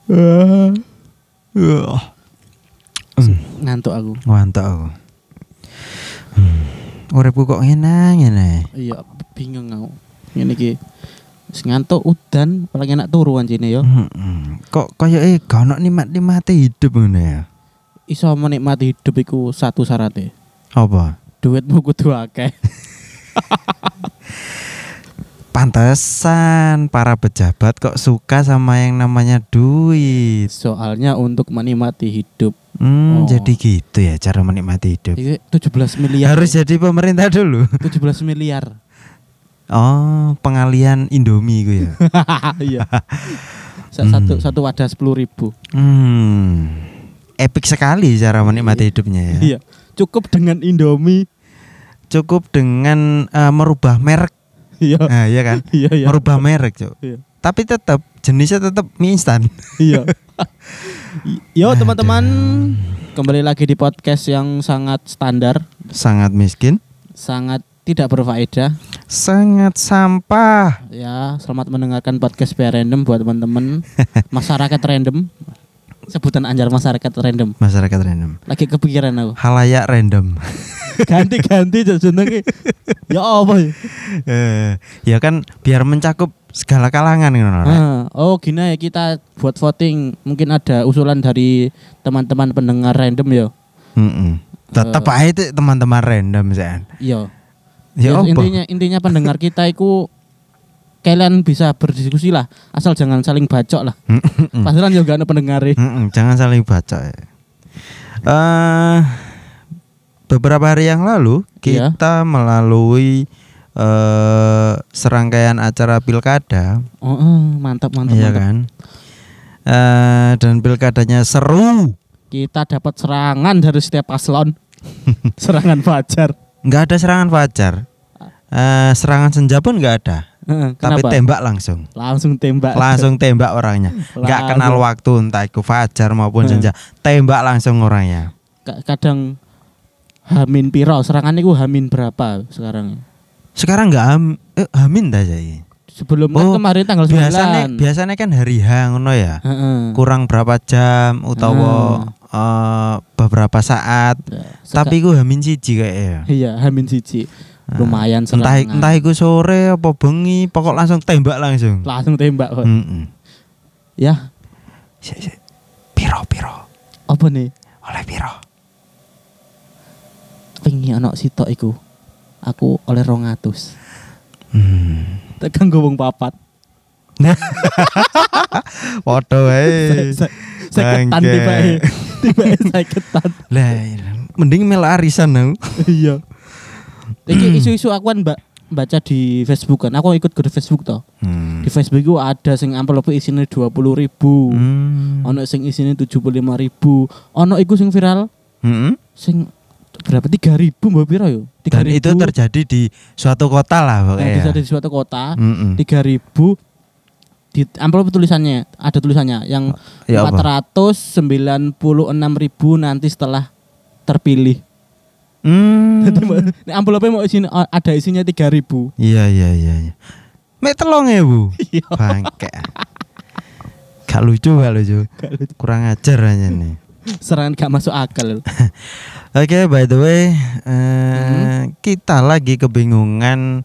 Ngantuk aku. Uripku kok ngene. Iya, bingung aku. Ngene iki. Wis ngantuk udan, paling enak turu anjene ya. Kok koyoke gak ono nikmati hidup ngono ya. Iso menikmati hidup iku satu syaratnya. Apa? Duitmu kudu akeh. Pantesan para pejabat kok suka sama yang namanya duit. Soalnya untuk menikmati hidup. Jadi gitu ya cara menikmati hidup. Iki 17 miliar. Harus jadi pemerintah dulu. 17 miliar. Oh, pengalian Indomie gue ya. Iya. Satu wadah 10.000. Epic sekali cara menikmati hidupnya ya. Iya. Cukup dengan Indomie. Cukup dengan merubah merek. Iya. Nah, iya kan? Iya. Merubah merek, Cuk. Iya. Tapi tetap jenisnya tetap mie instan. Iya. Yo teman-teman, kembali lagi di podcast yang sangat standar, sangat miskin, sangat tidak berfaedah, sangat sampah. Ya, selamat mendengarkan podcast PR Random buat teman-teman masyarakat random. Sebutan anjar masyarakat random. Masyarakat random. Lagi kepikiran aku. Halayak random. Ganti jenenge. Ya apa ya? Ya kan biar mencakup segala kalangan kan. Oh gini ya, kita buat voting. Mungkin ada usulan dari teman-teman pendengar random ya. Tetap aja itu teman-teman random sih. Iya. Ya, intinya pendengar kita itu kalian bisa berdiskusi lah, asal jangan saling bacok lah. Pasaran juga ada pendengar. Jangan saling bacok. Beberapa hari yang lalu kita melalui serangkaian acara pilkada. Mantap. Iya kan. Dan pilkadanya seru. Kita dapat serangan dari setiap paslon. Serangan fajar. Enggak ada serangan fajar. Serangan senja pun enggak ada. Tapi tembak langsung. Langsung tembak orangnya. Enggak kenal waktu, entah itu fajar maupun senja. Tembak langsung orangnya. Kadang hamin piro, serangan itu hamin berapa sekarang? Sekarang enggak hamin dah jadi. Sebelum kan kemarin tanggal 9. Biasanya kan hari H ngono ya. Kurang berapa jam utawa beberapa saat. Tapi ku hamin siji kayaknya. Iya, hamin siji. Lumayan serangan. Entah iku sore apa bengi, pokok langsung tembak langsung. Langsung tembak kok. Ya. Piro. Apa nih? Oleh piro? Wingi ana sitok iku. Aku oleh 200. Tekan gowong papat. Foto wae. Saketan tiba-tiba saketan. Lah, mending mel arisan aku. Iya. Iki isu-isu aku kan baca di Facebook kan. Aku ikut grup Facebook toh. Di Facebook itu ada sing amplop isine 20.000. Ono sing isine 75.000. Ono iku sing viral. Sing berapa 3.000 mbak piro yo? 3.000. Dan itu terjadi di suatu kota lah pokoknya. Di suatu kota. 3.000 di amplop tulisannya, ada tulisannya yang 496.000 nanti setelah terpilih. Nek amplopnya mau ada isinya 3.000. Iya. Mek 3.000. Bangke. Gak lucu. Kurang ajar aja nih. Serangan gak masuk akal. Oke, by the way, kita lagi kebingungan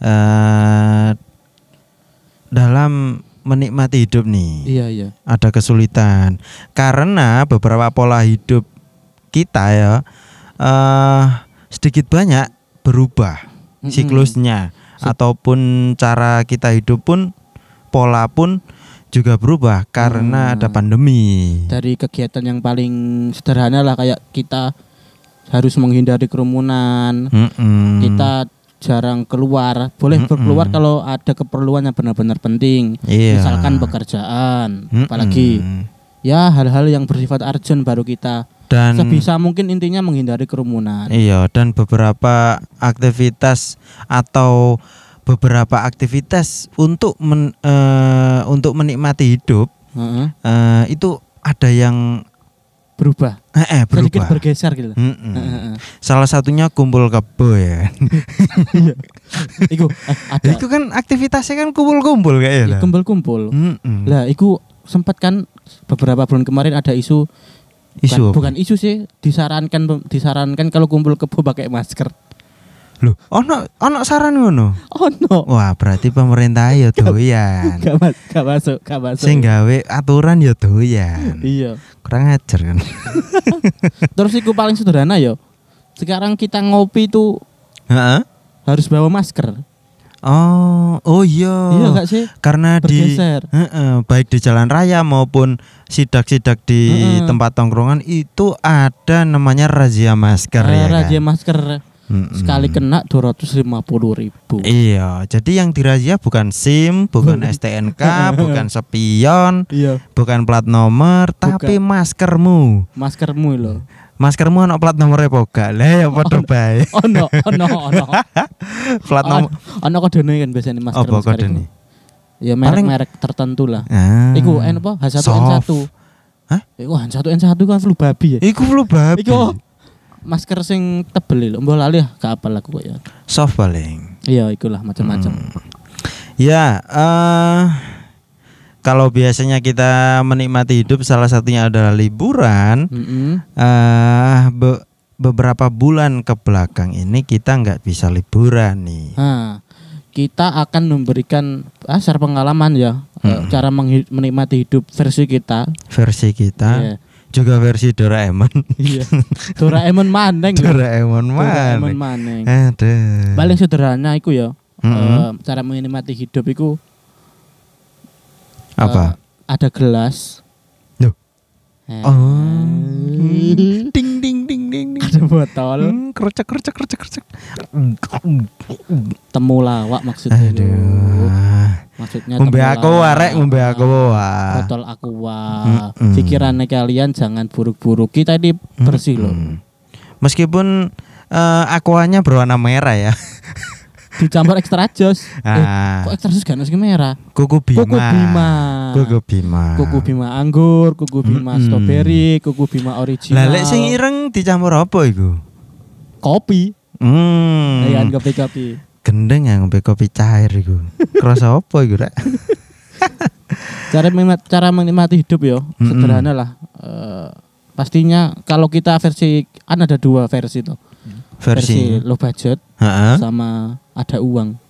dalam menikmati hidup nih. Iya. Ada kesulitan karena beberapa pola hidup kita ya sedikit banyak berubah siklusnya, ataupun cara kita hidup pun, pola pun juga berubah karena ada pandemi. Dari kegiatan yang paling sederhana lah, kayak kita harus menghindari kerumunan, kita jarang keluar, boleh berkeluar kalau ada keperluan yang benar-benar penting, misalkan pekerjaan, apalagi ya hal-hal yang bersifat urgent baru kita. Dan sebisa mungkin intinya menghindari kerumunan. Iya, dan beberapa aktivitas untuk menikmati hidup itu ada yang berubah. Sedikit bergeser gitu. Salah satunya kumpul kebo ya. Iku ada. Iku kan aktivitasnya kan kumpul-kumpul kayaknya. Kumpul-kumpul. Lah iku sempat kan beberapa bulan kemarin ada isu bukan isu sih, disarankan kalau kumpul kebo pakai masker. Loh, ono saran ngono. Ono. Wah, berarti pemerintah ya doyan. Gak masuk. Sing gawe aturan ya doyan. Iya. Kurang ajar kan. Terus iku paling sederhana ya. Sekarang kita ngopi tuh harus bawa masker. Oh iya. Iya gak sih? Karena bergeser. Baik di jalan raya maupun sidak-sidak di tempat tongkrongan itu ada namanya razia masker ya kan. Razia masker. Sekali kena 250.000. Iya, jadi yang dirazia bukan SIM, bukan STNK, bukan spion, bukan plat nomor, tapi maskermu. Maskermu loh. Maskermu ono plat nomornya poga. Lah ya padha bae. Ono. Plat nomor. Ono kodene kan biasanya masker. Apa kodene? Ya merek-merek tertentu lah. Iku apa? H1N1. Hah? Iku H1N1 kan flu babi ya. Iku flu babi. Iku masker sing tebel lho. Mbok lali gak apal aku kok ya. Soft paling. Iya, ikulah macam-macam. Ya, kalau biasanya kita menikmati hidup salah satunya adalah liburan. Beberapa bulan ke belakang ini kita nggak bisa liburan nih. Kita akan memberikan share pengalaman ya, cara menikmati hidup versi kita. Yeah. Juga versi Doraemon. Iya. Doraemon maneng. Doraemon maneng. Aduh. Paling sederhana iku ya. Cara menikmati hidup iku apa? Ada gelas. Loh. Ding ding ding ding. Ada botol. Kercek. Temulawak maksudnya. Aduh. Maksudnya ngombe aku botol aqua. Pikirannya kalian jangan buruk-buruk. Kita ini bersih loh. Meskipun aquanya berwarna merah ya. Dicampur extra jos. Kok extra jos gak nasi merah? Kuku bima anggur, kuku bima strawberry, kuku bima original. Lah lek sing ireng dicampur apa iku? Kopi. Ya kopi. Gendeng ya ngombe kopi cair iku. Kerasa apa iku rek? Cara menikmati hidup yo, sederhana lah. Pastinya kalau kita ada 2 versi tuh. Versi low budget sama ada uang.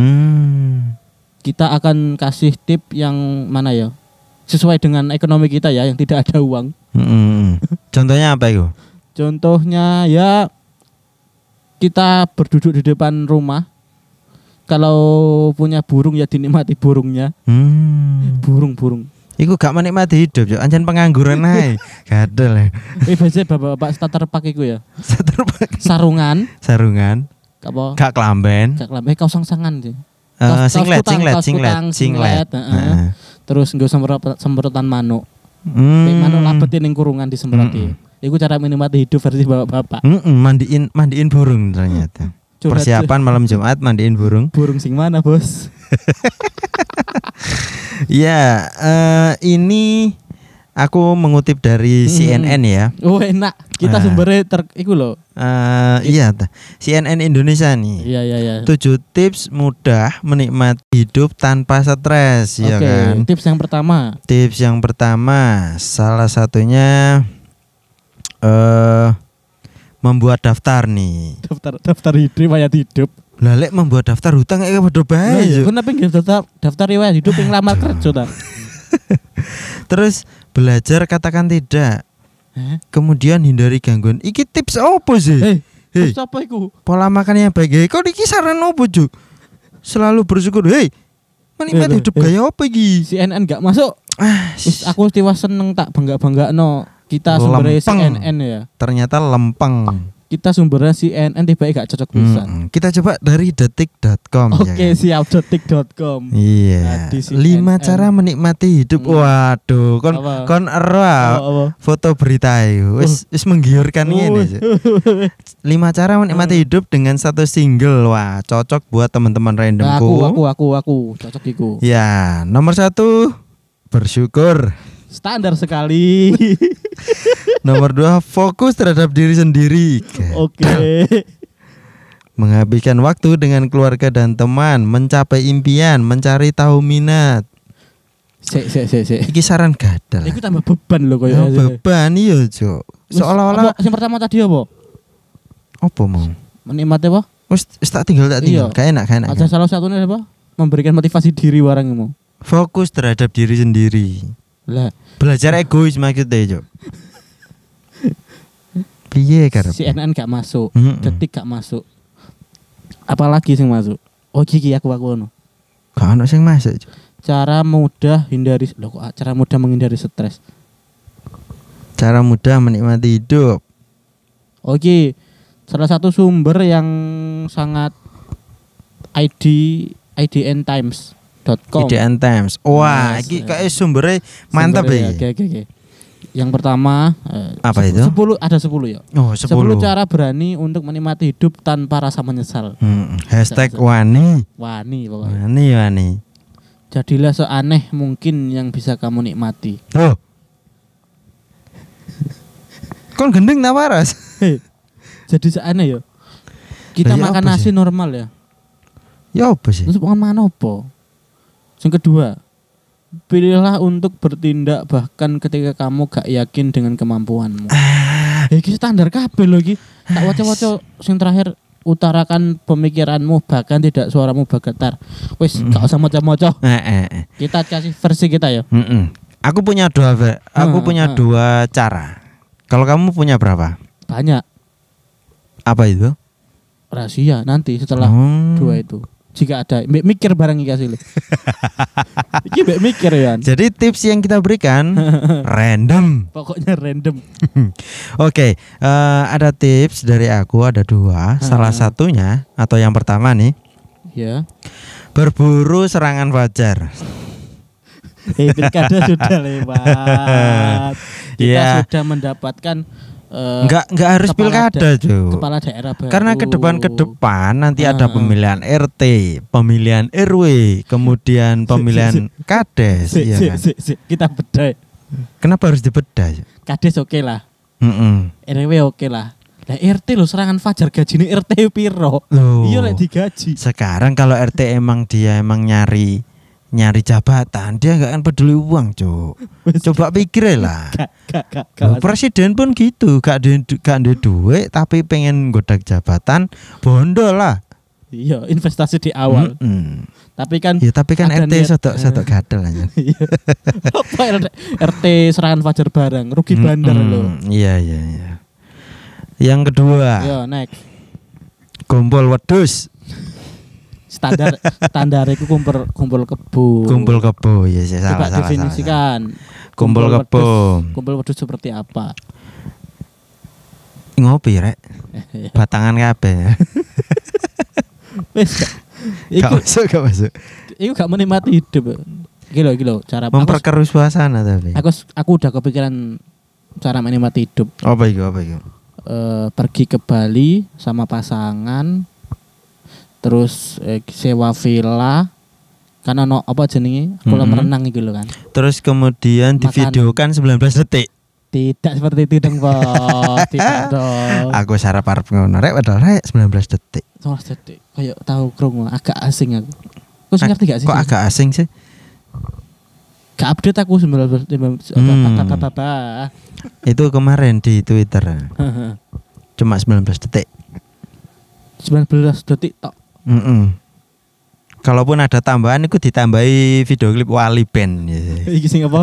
Kita akan kasih tip yang mana ya? Sesuai dengan ekonomi kita ya, yang tidak ada uang. Contohnya apa itu? Contohnya ya kita berduduk di depan rumah. Kalau punya burung ya dinikmati burungnya. Burung. Iku gak menikmati hidup yo, anjen pengangguran ae. Gadel. Biasanya bapak-bapak starter pack iku ya. Starter pack. Sarungan. Apa? Gak kelamben. Kaos sang-sangan sih. Singlet. Terus nggo semprotan manuk. Manuk labetin ning kurungan disemproti. Iku cara menikmati hidup versi bapak-bapak. Mandiin burung ternyata. Persiapan malam Jumat mandiin burung. Burung sing mana, Bos? Ya, ini aku mengutip dari CNN ya. Oh, enak. Kita sumbernya iku loh. Iya, CNN Indonesia nih. Iya. 7 tips mudah menikmati hidup tanpa stres, ya kan? Tips yang pertama, salah satunya membuat daftar nih. Daftar riwayat hidup. Lah lek membuat daftar hutang kayak padha bae. Iya, kenapa nggih daftar riwayat hidup yang lamar kerja ta? Terus belajar katakan tidak. Kemudian hindari gangguan. Iki tips apa sih? Tips apa iku? Pola makan yang baik. Kok iki saran apa, Juk? Selalu bersyukur. Menikmati hidup gaya apa iki? CNN gak masuk. Aku tiwas seneng tak bangga-banggakno. Kita sumbernya CNN ya. Ternyata lempeng. Kita sumbernya CNN tiba-tiba gak cocok bisa. Kita coba dari detik.com. Oke, siap detik.com. Iya. 5 cara menikmati hidup. Waduh, kon ero foto berita itu. Wis menggiurkan ngene. 5 cara menikmati hidup dengan satu single. Wah, cocok buat teman-teman randomku. Aku cocok iku. Ya, nomor 1 bersyukur. Standar sekali. Nomor 2 fokus terhadap diri sendiri. Oke. Menghabiskan waktu dengan keluarga dan teman, mencapai impian, mencari tahu minat. Sik. Iki saran gadal. Iku tambah beban lho koyo. Beban iya, Cuk. Seolah-olah yang pertama tadi apa? Apa mau? Menikmati apa? Wis tak tinggal. Gak enak. Ada salah satunya apa? Memberikan motivasi diri warangmu. Fokus terhadap diri sendiri. Lah, belajar egois maksudnya, Cuk. Piye karep? CNN gak masuk, Detik gak masuk. Apalagi sing masuk? Oh iki aku ngono. Gak ono sing masuk, Cuk. Cara mudah menghindari stres. Cara mudah menikmati hidup. Oke. Salah satu sumber yang sangat idntimes.com. IDN Times. Wah, iki kayak sumbernya mantap ya. Oke. Yang pertama apa itu? 10 ada 10 ya. Oh, 10 cara berani untuk menikmati hidup tanpa rasa menyesal. #wani. Wani pokoknya. Wani. Jadilah seaneh mungkin yang bisa kamu nikmati. Oh. Kon gendeng tak waras. Jadi seaneh ya. Kita makan nasi normal ya. Ya apa sih? Terus makan apa? Yang kedua, pilihlah untuk bertindak bahkan ketika kamu gak yakin dengan kemampuanmu. Iki standar kabeh lho iki. Tak waca-waca sing terakhir, utarakan pemikiranmu bahkan tidak suaramu bergetar. Wis gak usah maca-maca. Kita kasih versi kita ya. Aku punya dua cara. Kalau kamu punya berapa? Banyak. Apa itu? Rahasia nanti setelah dua itu. Jika ada mikir barang iki asli. Iki mikir ya. Jadi tips yang kita berikan random. Pokoknya random. Oke, ada tips dari aku, ada dua. Salah satunya atau yang pertama nih. Ya. Berburu serangan fajar. Pilkada sudah lewat. Kita sudah mendapatkan Enggak harus pilkada, Cuk. Kepala daerah baru. Karena ke depan nanti ada pemilihan RT, pemilihan RW, kemudian pemilihan kades, ya kan? Kita bedah. Kenapa harus dibedah? Kades oke lah. RW oke lah. Lah RT lo serangan fajar gajine RT piro? Iya lek digaji. Sekarang kalau RT emang nyari jabatan, dia gak akan peduli uang, Cuk. Coba pikir lah. Presiden pun gitu, gak ada duit tapi pengen godak jabatan, bondo lah. Iya, investasi di awal. Tapi kan RT sotok gadel aja. Apa RT serangan fajar bareng, rugi bandar loh. Iya. Yang kedua. Yo, next. Gombol wedhus. Standar itu kumpul kebo. Kumpul kebo, ya salah. Coba definisikan. Kumpul kebo. Kumpul wedhus seperti apa? Ngopi rek. Batangan kabeh. Wis. Gak masuk. Iku gak menikmati hidup. Iki lho cara memperkeruh suasana tapi. Aku udah kepikiran cara menikmati hidup. Apa itu? Pergi ke Bali sama pasangan. Terus sewa villa karena apa jenenge kolam renang gitu loh kan. Terus kemudian divideokan 19 detik. Tidak seperti itu dong, Bos. Tidak dong. Aku sarap arep ngono rek padahal 19 detik. 19 detik. Kayak tahu krungu agak asing aku. Kok ngerti gak sih? Kok agak asing sih? Gak update aku 19 Itu kemarin di Twitter. Cuma 19 detik. 19 detik tok. Kalaupun ada tambahan itu ditambahi video klip Wali Band. Iki sing apa?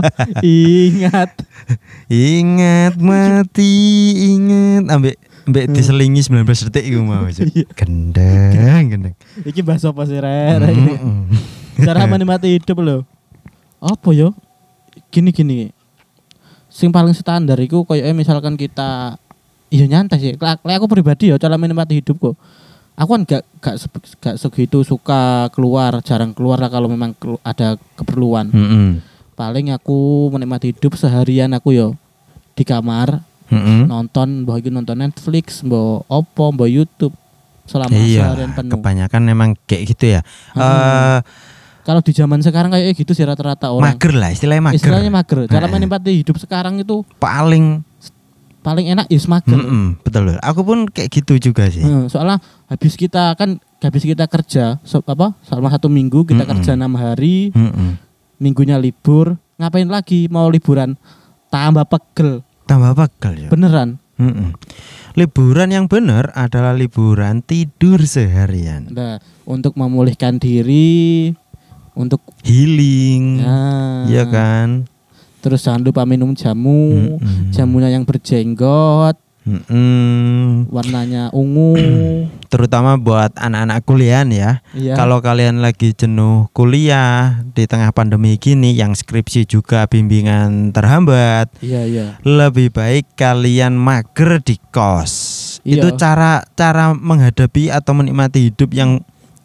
Ingat mati, ingat ambek diselingi 19 detik iku mau. Gendeng. Iki bahasa apa sih rek? Cara menikmati hidup lho. Apa yo? Gini. Sing paling standar iku koyo misalkan kita nyantai sih. Aku pribadi ya cara menikmati hidupku. Aku kan gak segitu suka keluar, jarang keluar lah kalau memang ada keperluan. Paling aku menikmati hidup seharian aku yo di kamar nonton, nonton Netflix, mbok YouTube selama seharian penuh. Kebanyakan memang kayak gitu ya. Kalau di zaman sekarang kayak gitu sih rata-rata orang. Mager lah, istilahnya mager. Cara menikmati hidup sekarang itu paling enak mager. Betul. Aku pun kayak gitu juga sih. Soalnya habis kita kerja selama 1 minggu kita kerja 6 hari. minggunya libur, ngapain lagi mau liburan? Tambah pegel ya. Beneran. Liburan yang benar adalah liburan tidur seharian. Nah, untuk memulihkan diri, untuk healing, iya kan. Terus jangan lupa minum jamu, jamunya yang berjenggot, warnanya ungu. Terutama buat anak-anak kuliah ya. Iya. Kalau kalian lagi jenuh kuliah di tengah pandemi gini, yang skripsi juga bimbingan terhambat, lebih baik kalian mager di kos. Iya. Itu cara menghadapi atau menikmati hidup yang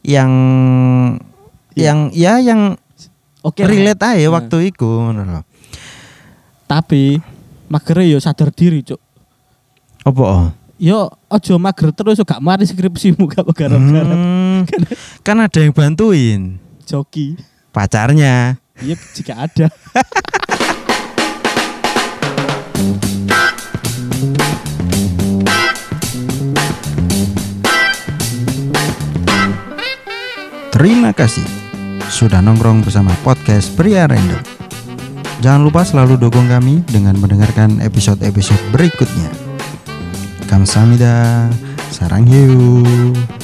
relate aja waktu itu. Tapi mager yo sadar diri, Cuk. Apa? Yo ojo mager terus gak mari skripsimu gak garap-garap. Kan ada yang bantuin. Joki. Pacarnya. Iya jika ada. Terima kasih sudah nongkrong bersama podcast Pria Random. Jangan lupa selalu dukung kami dengan mendengarkan episode-episode berikutnya. Kamsahamnida, sarang hiu.